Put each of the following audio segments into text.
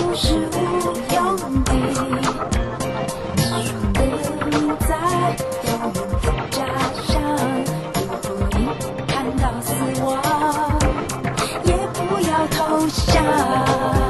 是无用的。等在遥远的家乡，如果你看到死亡，也不要投降。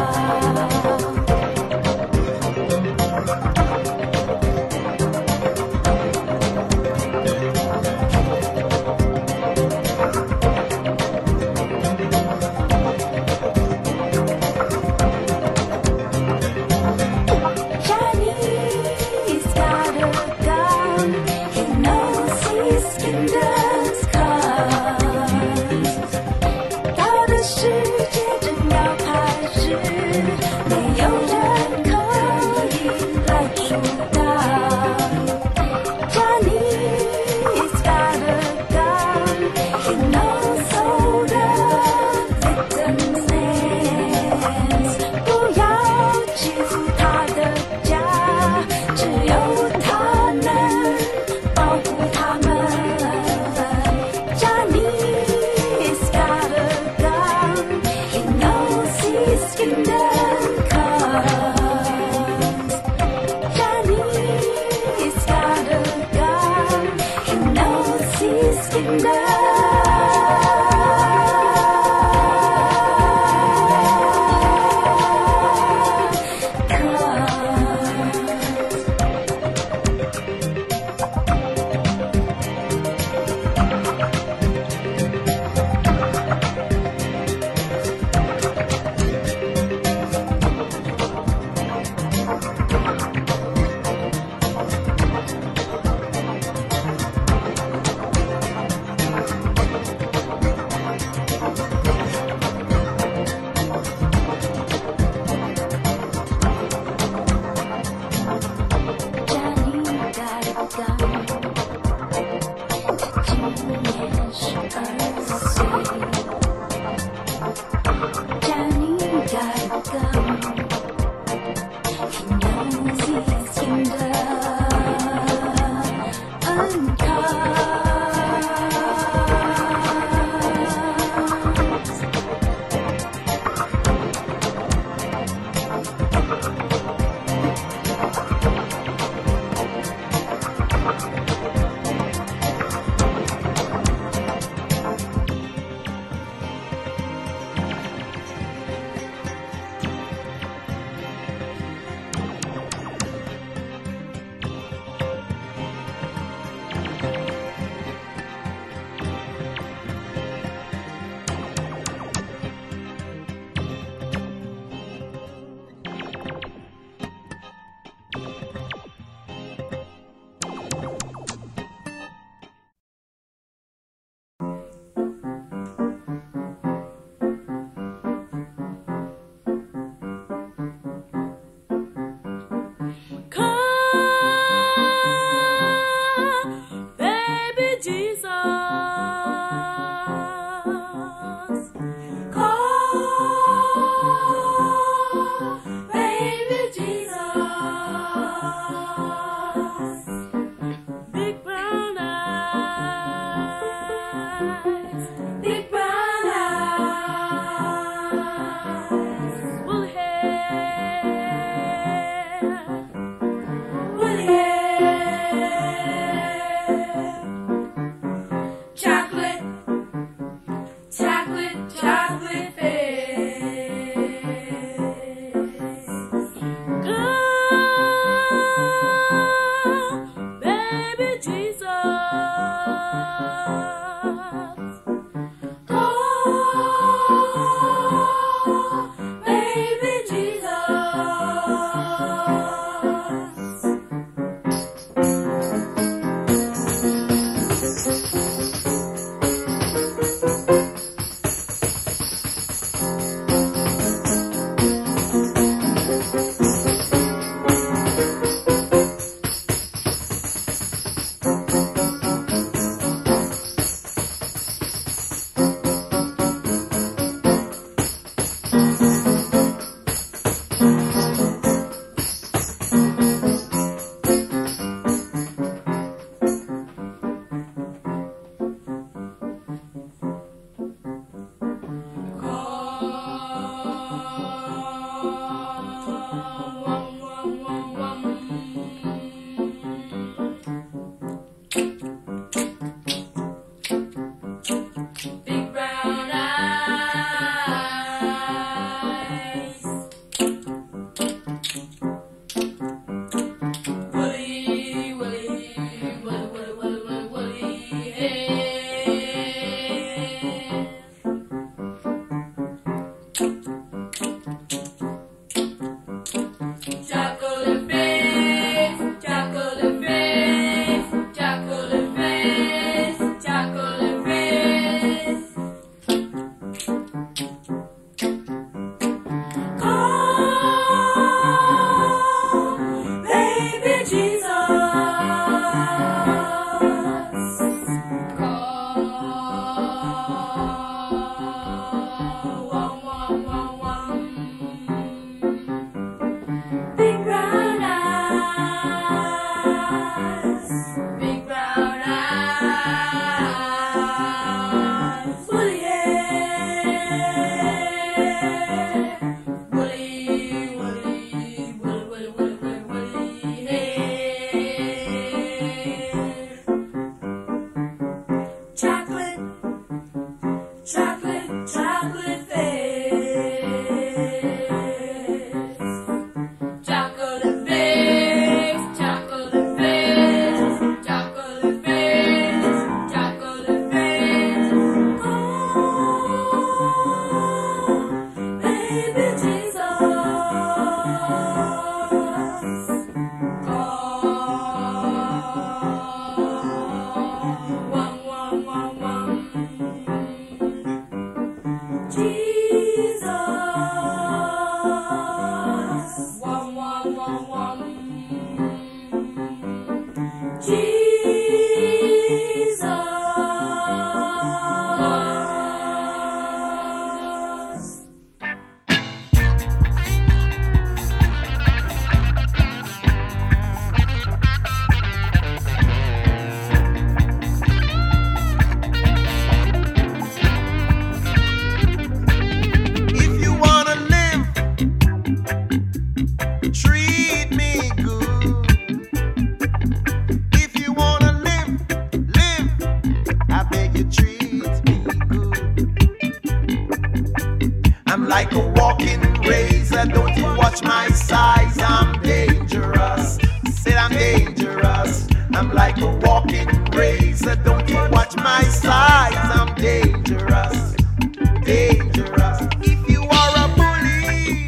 I'm like a walking razor. Don't you watch my size? I'm dangerous, dangerous. If you are a bully,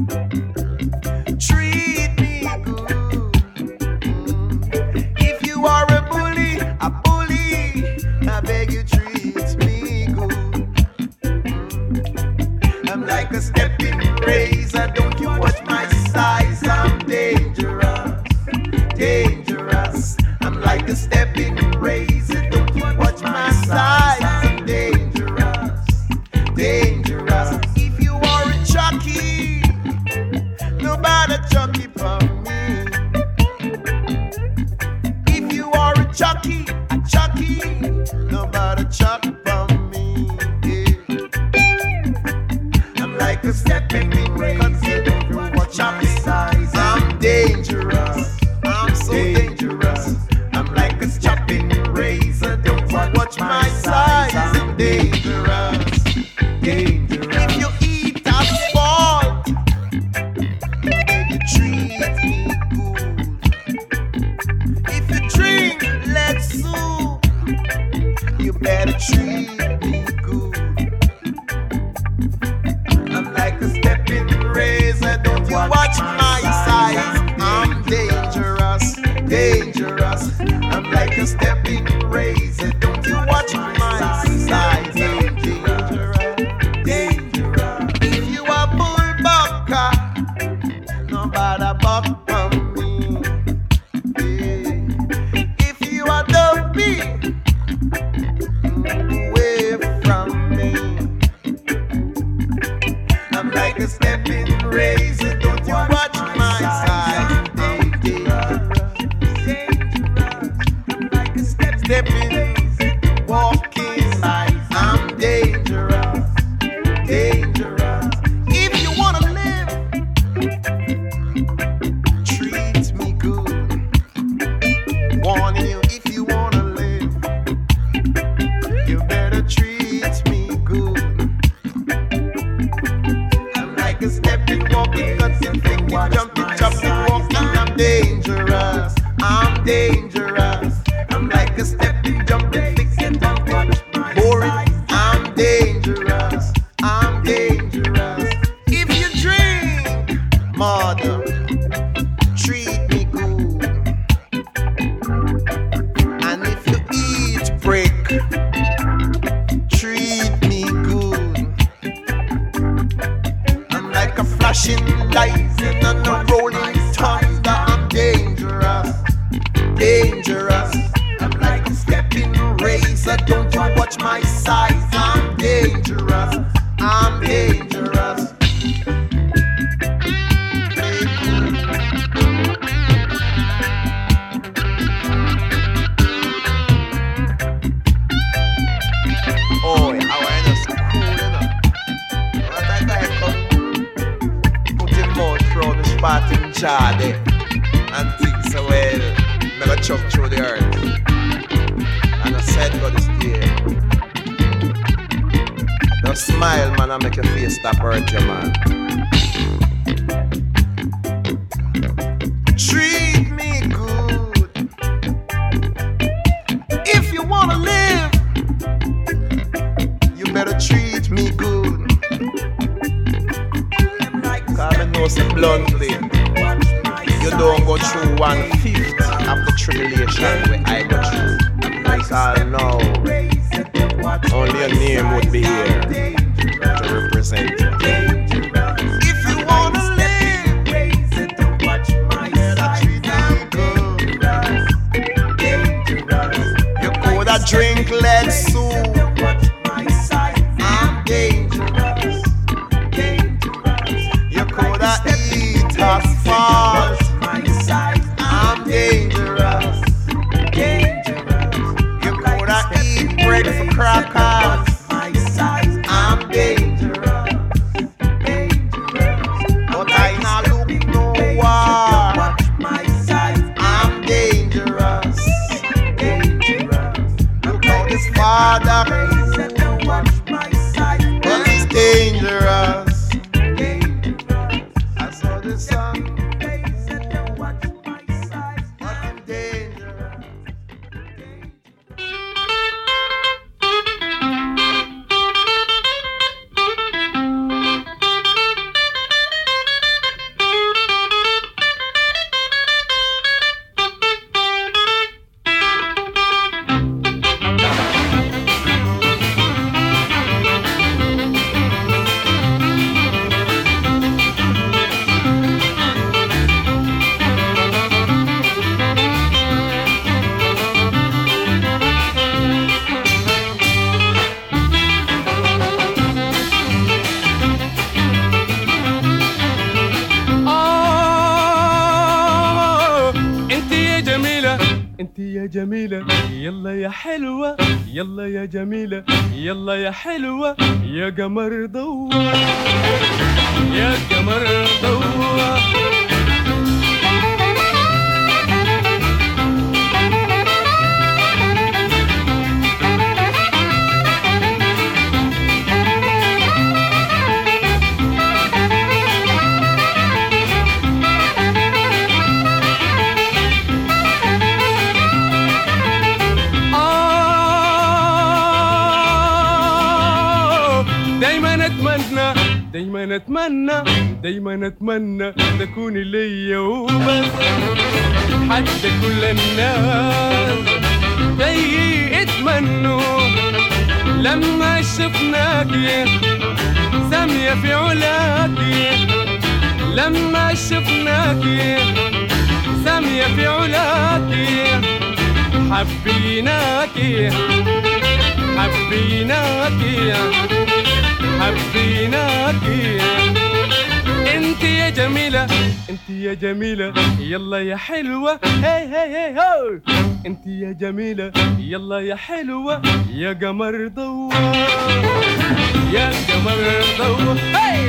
treat me good. If you are a bully, I beg you treat me good. I'm like a stepping razor. Don't you watch my size? I'm dangerous, dangerous. I'm like a stepping razor. Don't you watch my size? I'm dangerous, dangerous. If you are a jockey, nobody jockey for me. If you are a jockey, nobody jockey for me. Yeah. I'm like a stepping razor. Don't you watch my size? I'm dangerous. I'm so dangerous. I'm like a chopping razor. Don't you watch my size? I'm dangerous, dangerous. If you eat asphalt, then you treat me good. If you drink lead soup, you better treat me good. I'm like a stepping razor. Don't you watch my size? I'm dangerous, dangerous. I'm like a stepping razor. Don't you watch my size? I'm dangerous, dangerous. If you are bullbucker, nobody buck from me. Yeah. If you are dopey, away from me. I'm like a stepping razor. Don't you watch my size? I'm dangerous, dangerous. I'm like a stepping, walking size. I'm dangerous, dangerous. If you wanna live, treat me good. Warning you, if you wanna live, you better treat me good. I'm like a stepping, walking, cutting, flicking, jumping, chopping, walking. I'm dangerous, I'm dangerous. I'm like a stepping, jumping, flicking, jumping, boring. I'm dangerous, I'm dangerous. If you drink, mother, treat me good. And if you eat brick, treat me good. I'm like a flashing light in a rolling thunder. I'm dangerous, dangerous. I'm like a stepping razor. Don't you watch my size? I'm dangerous, I'm dangerous. Oh, how I just cool enough. What I guy come put him out through the spot in jar there and think so well. Never chuck through the earth. And I said God is there. Just smile, man, and make your face stop hurt you, man. Treat me good. If you wanna live, you better treat me good. Cause I know so bluntly, you don't go through 1/5 of the tribulation where I go through. Because I know only your name would be here to represent you. If you wanna live, better treat me good. You coulda drink lead soup. I'm dangerous, dangerous. You coulda eat asphalt. I'm dangerous, dangerous. You coulda eat bread for crackers. I'm dangerous, dangerous. But I not look no war. I'm dangerous, dangerous. Look how this father, but he's dangerous, dangerous. I saw the sun, but I'm dangerous. انت يا جميلة يلا يا حلوة، يلا يا جميلة يلا يا حلوة، يا قمر ضوى يا قمر ضوى. دايما اتمنى دايما اتمنى تكوني ليا وبس، حتى كل الناس زيي اتمنوا لما شفناكي سامية في علاكي، لما شفناكي سامية في علاكي، حبيناكي حبيناكي حبيناكي. انت يا جميلة انت يا جميلة يلا يا حلوة، هي هي هي هو. انت يا جميلة يلا يا حلوة، يا قمر ضوى يا قمر ضوى. هي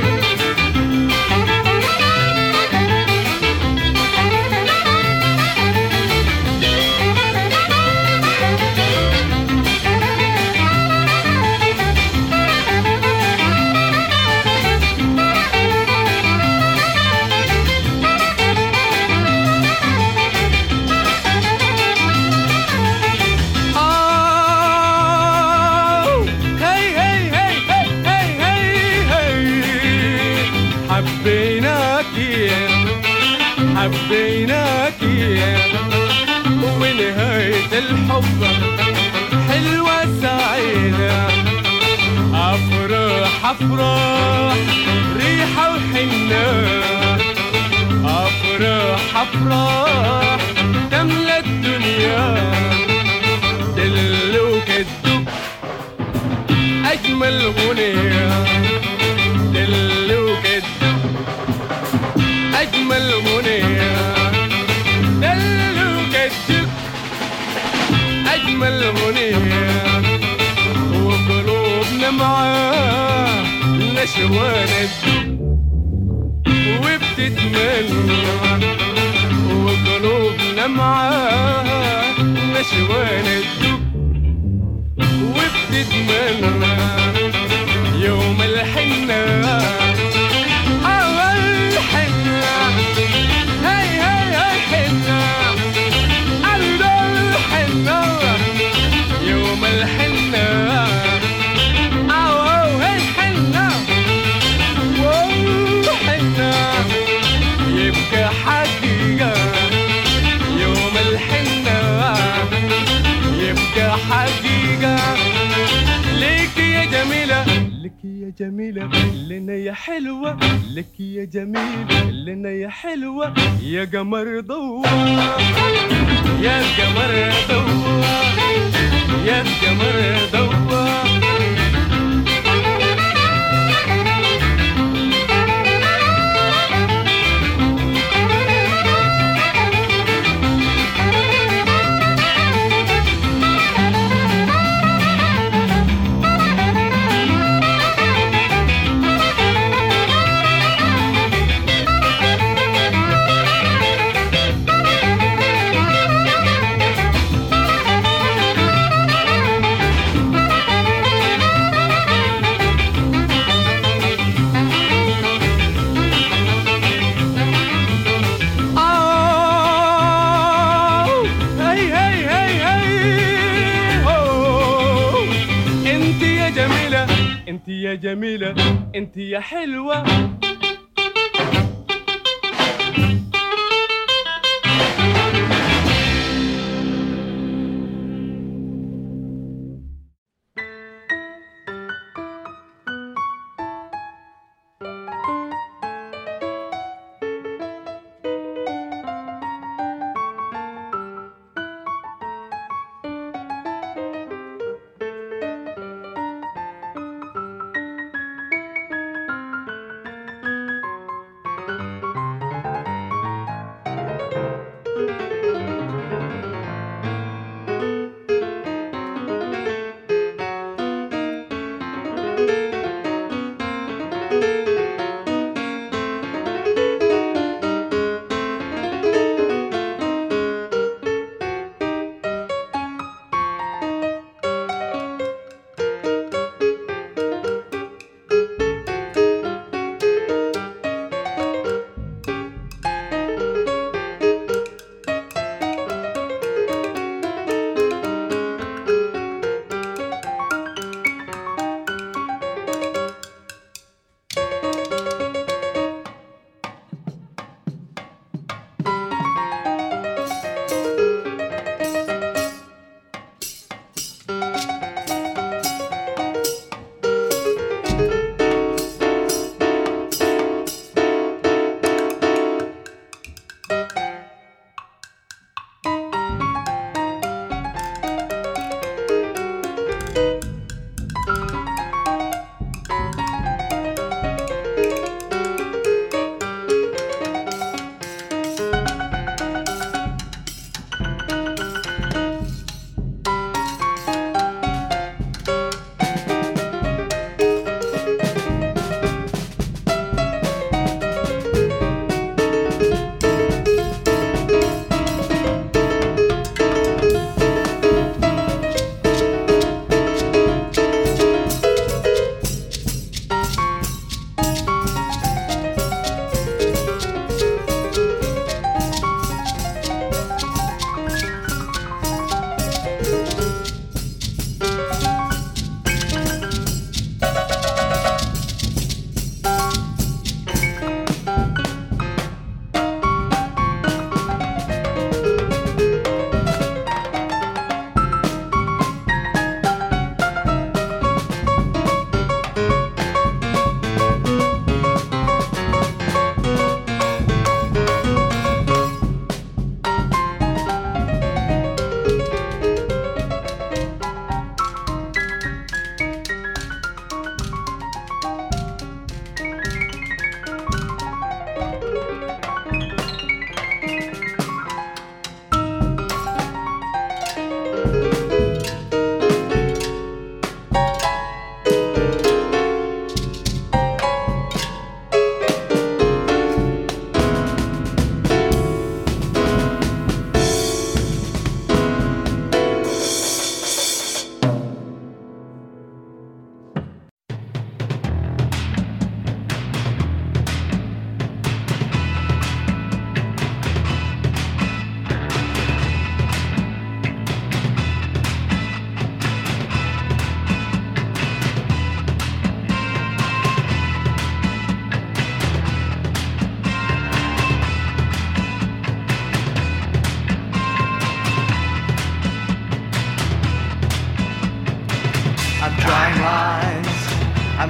حبيناكي حبيناكي، ونهاية الحب حلوة سعيدة، أفراح أفراح ريحة وحنة، أفراح أفراح تملى الدنيا، دلوك الدق أجمل غنية، دلوك الدق أجمل غنية، دلوك الدق أجمل غنية، وقلوبنا معاه نشوان الدق وبتتمنى، وقلوبنا معاه نشوان الدق وبتتمنى يوم الحنة جميلة لنا يا حلوة، لك يا جميلة لنا يا حلوة، يا قمر ضوى يا قمر ضوى يا قمر ضوى. انت يا جميلة انت يا حلوة.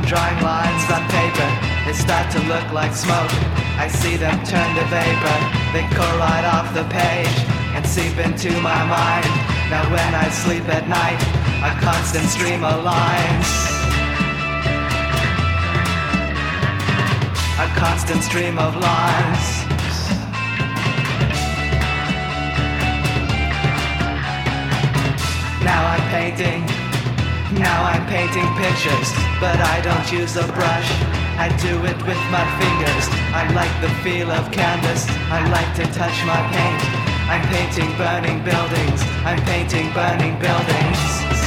drawing lines on paper, they start to look like smoke. I see them turn to vapor, they collide off the page and seep into my mind. Now when I sleep at night, a constant stream of lines, a constant stream of lines. Now I'm painting pictures, but I don't use a brush. I do it with my fingers. I like the feel of canvas. I like to touch my paint. I'm painting burning buildings. I'm painting burning buildings.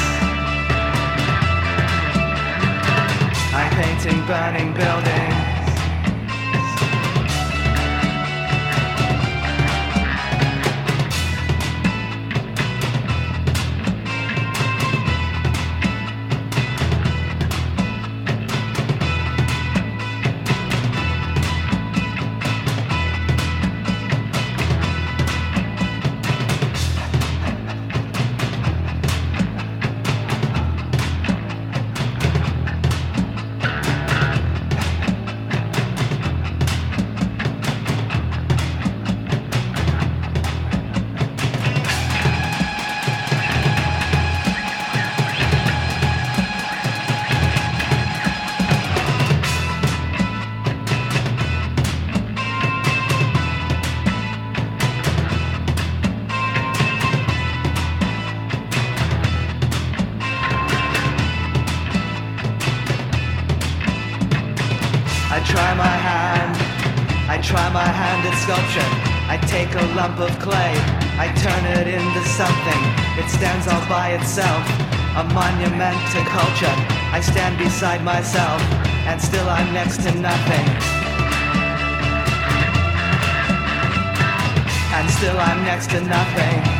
I'm painting burning buildings. Sculpture. I take a lump of clay, I turn it into something. It stands all by itself, a monument to culture. I stand beside myself, and still I'm next to nothing. And still I'm next to nothing.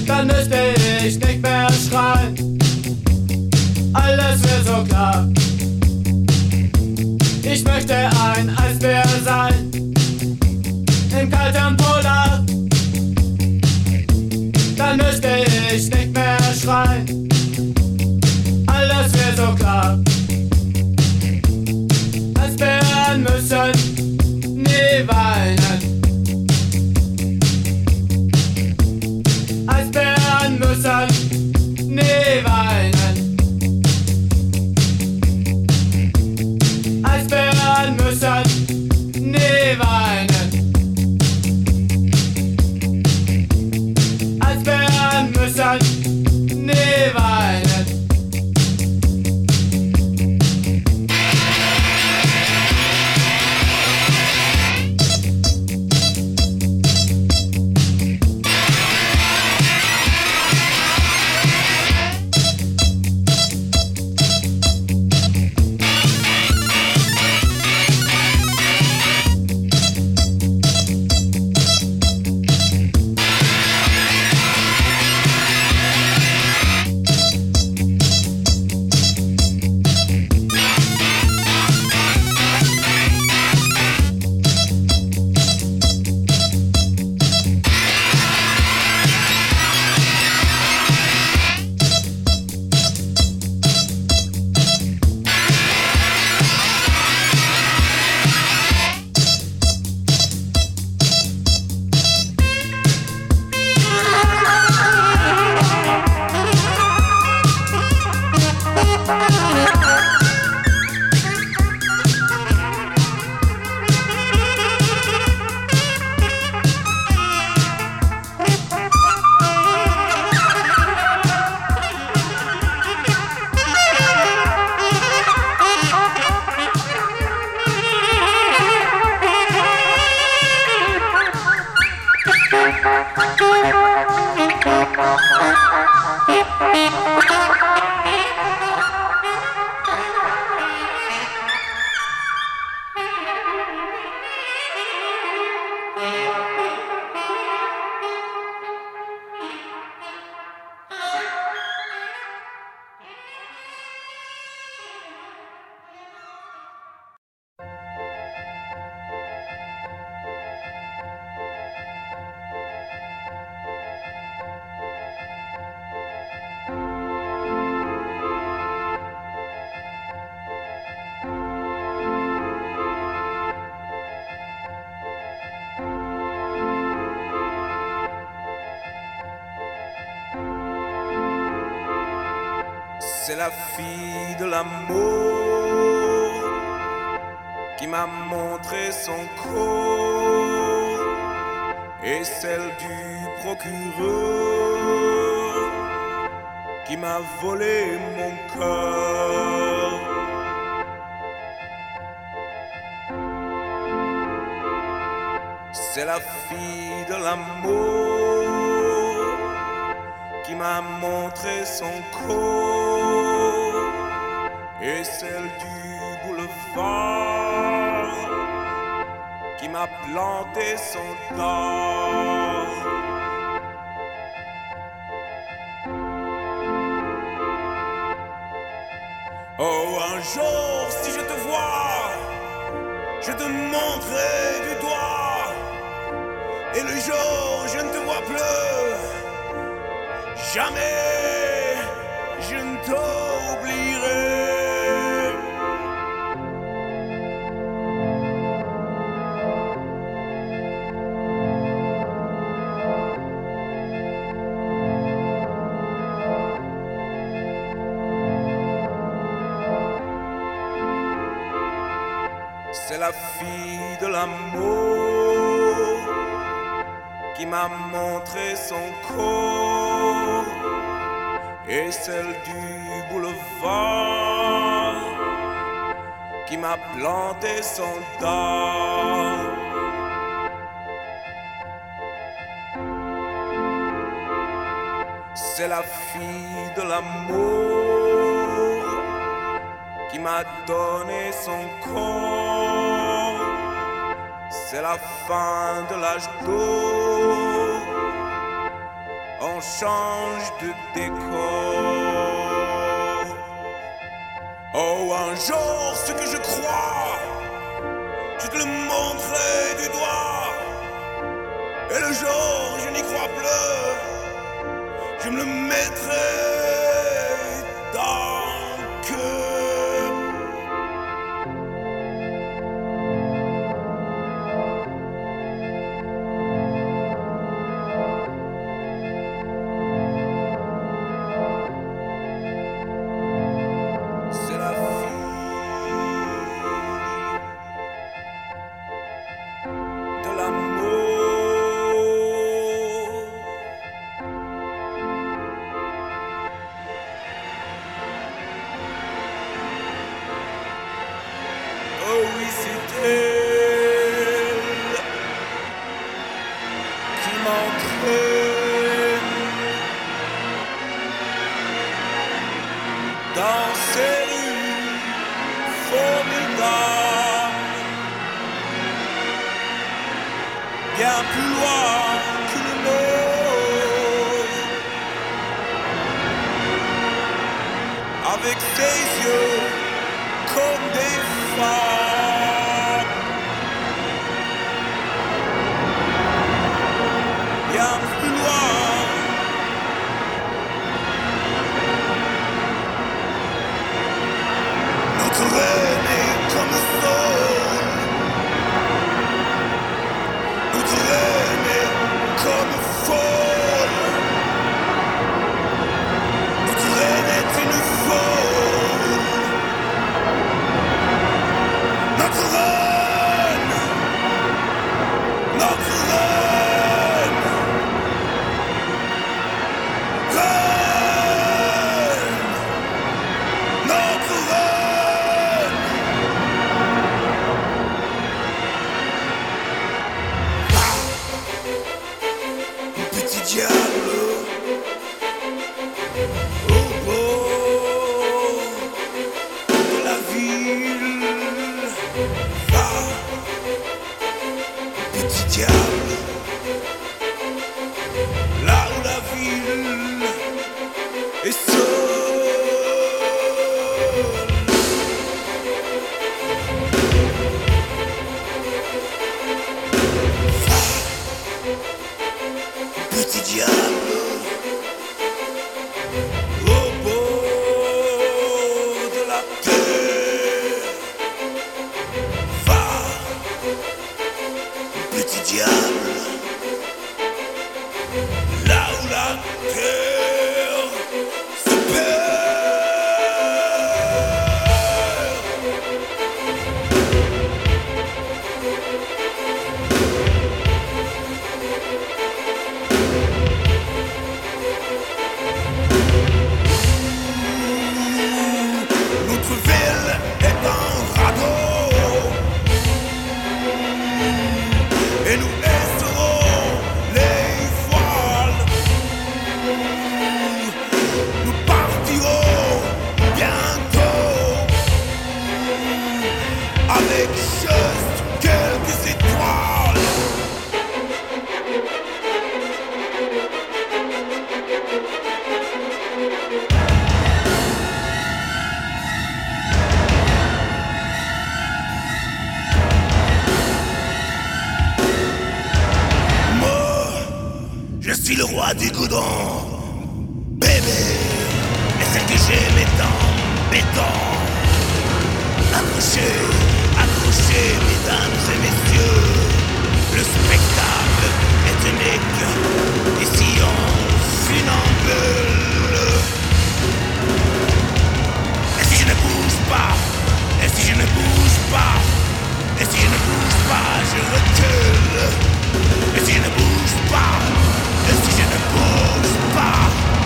Dann müsste ich nicht mehr schreien, alles wäre so klar. möchte ein Eisbär sein, im kalten Polar. Dann müsste ich nicht mehr schreien, alles wäre so klar. Eisbären müssen nie weinen. Eisbären müssen nie weinen. Eisbären müssen nie weinen. Eisbären müssen nie weinen. C'est la fille de l'amour qui m'a montré son corps et celle du procureur qui m'a volé mon cœur. C'est la fille de l'amour qui m'a montré son corps et celle du boulevard qui m'a planté son dard. Oh, un jour, si je te vois, je te montrerai du doigt. Et le jour où je ne te vois plus, jamais je ne t'oublierai. C'est la fille de l'amour qui m'a montré son corps et celle du boulevard qui m'a planté son dard. C'est la fille de l'amour qui m'a donné son corps. C'est la fin de l'âge d'or. On change de décor. Oh, un jour, ce que je crois, je te le montrerai du doigt. Et le jour où je n'y crois plus, je me le mettrai dans le cœur. C'est la fille de l'amour. Oh oui, c'est elle qui m'entraîne dans ces rues formidables, bien plus loin que le nord, avec ses yeux comme des femmes, bien plus loin. Notre reine est comme le sol, notre reine est comme folle, notre reine est une folle, notre reine, notre reine, reine, notre reine. Petit diable au bord de la ville, va, petit diable, là où la ville est seule. Petit diable au bord de la terre, va, petit diable, là où la terre se perd. Notre ville est un radeau et nous laisserons les voiles. Nous partirons bientôt avec juste quelques étoiles. Je suis le roi du goudron, bébé, et celle que j'aime est en béton. Accrochez, accrochez, mesdames et messieurs, le spectacle est unique, ici on funambule. Et si je ne bouge pas, et si je ne bouge pas, et si je ne bouge pas, je recule. Et si je ne bouge pas, et si je ne bouge pas,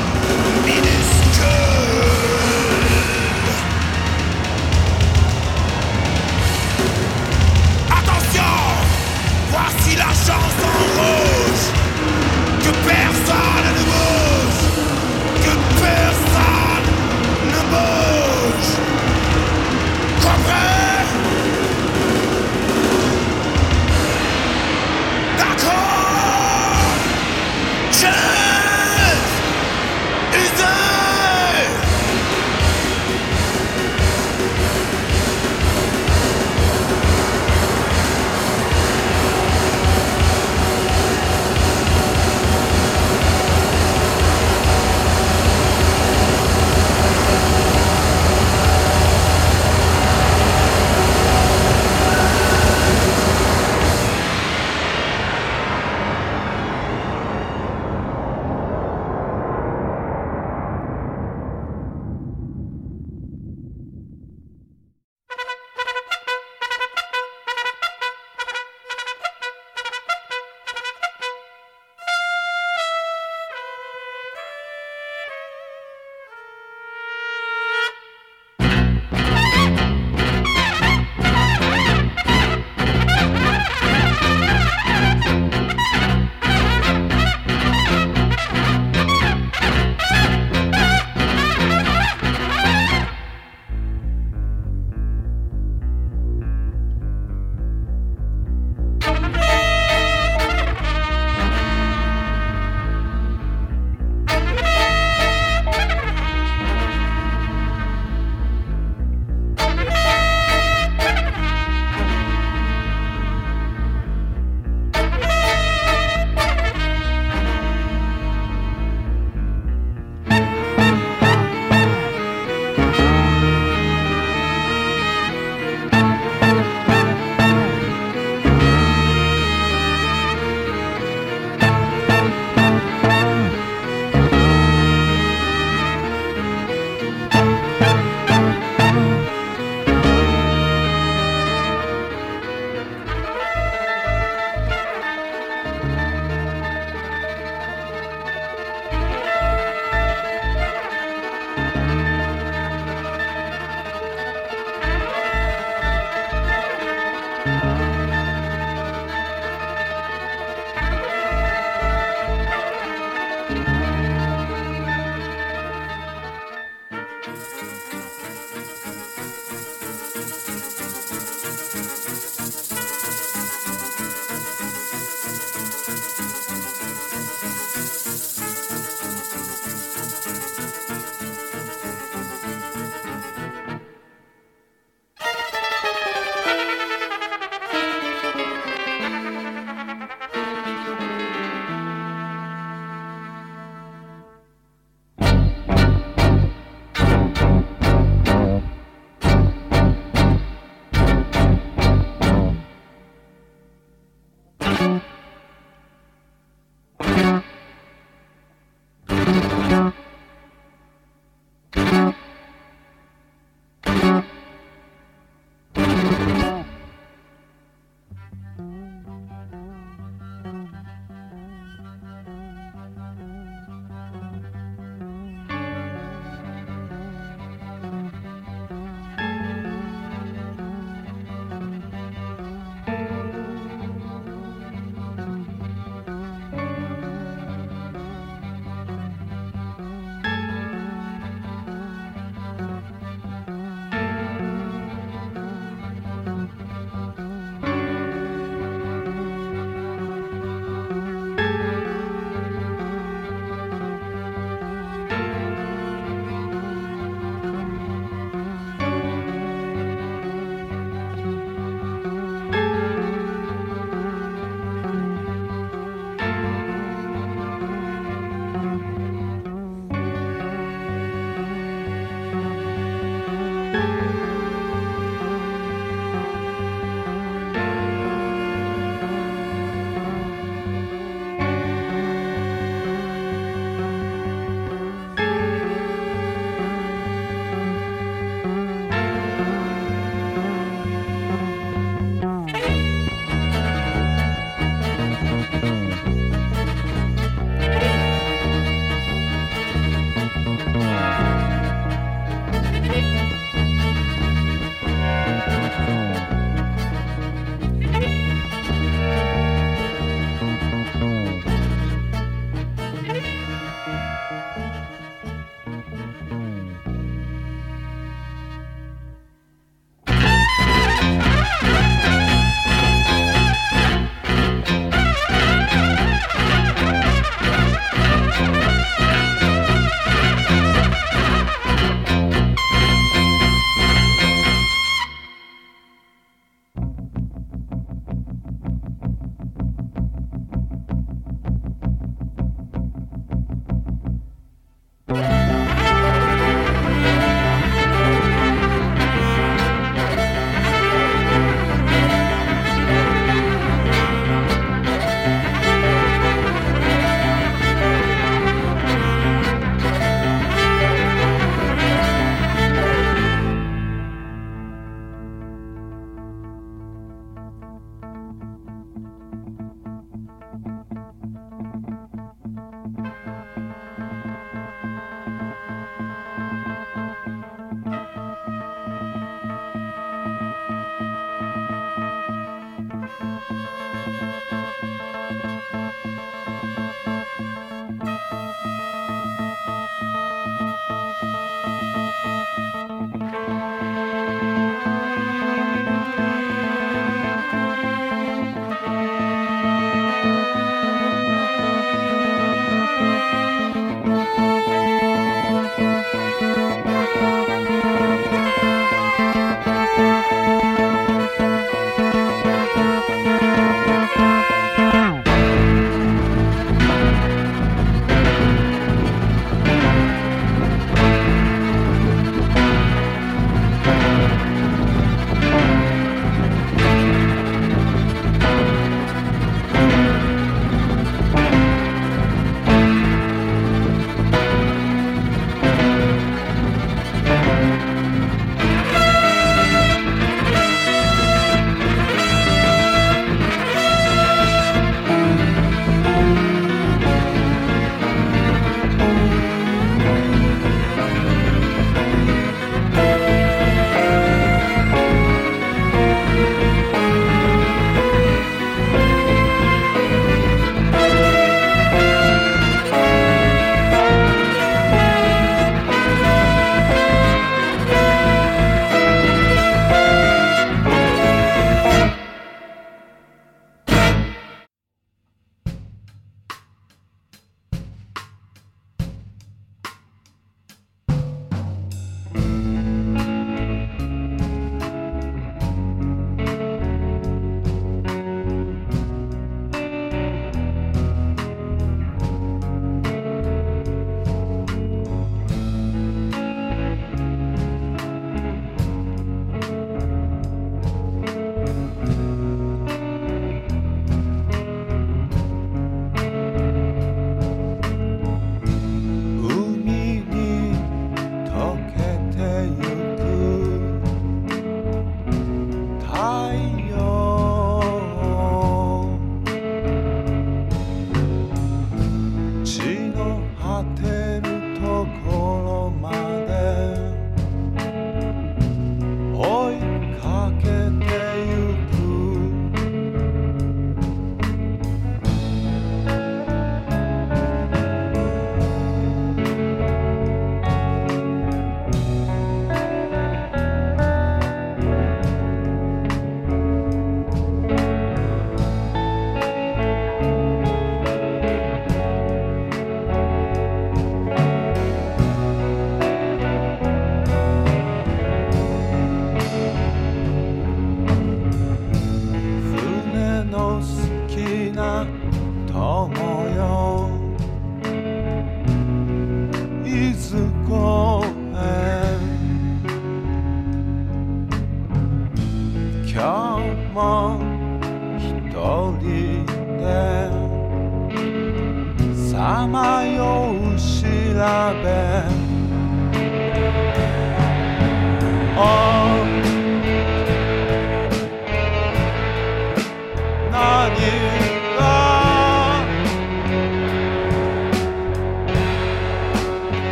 minuscule. Attention, voici la chanson rouge. Que personne ne bouge, que personne ne bouge. Compris? D'accord. Cheers. Easy.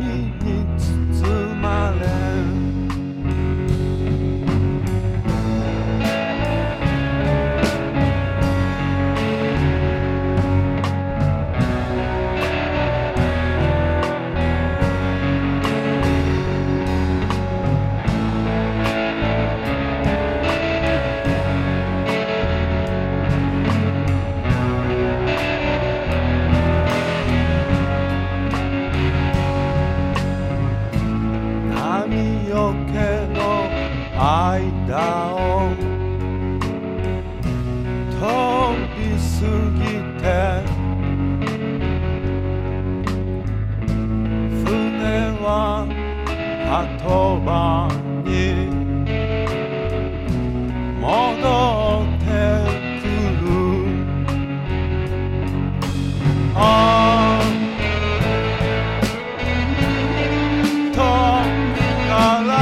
に包まれ波よけの間を通り過ぎて船は鳩場に戻ってくるああとから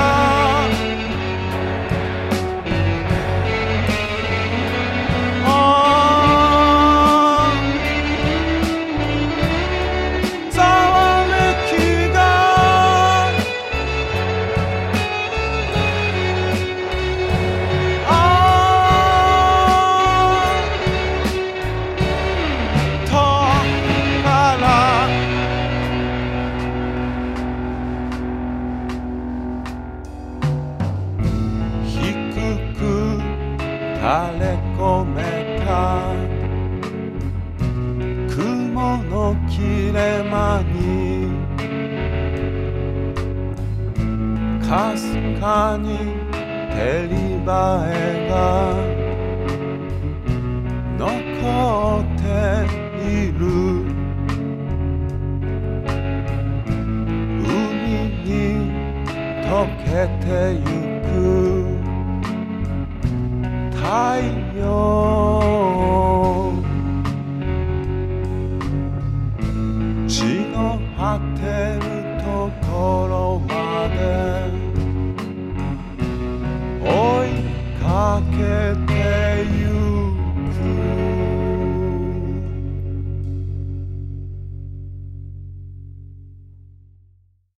ざわめきがとから低く垂れ込めた雲の切れ間にかすかに照り映えが残っている海に溶けてゆく太陽地の果てるところまで追いかけて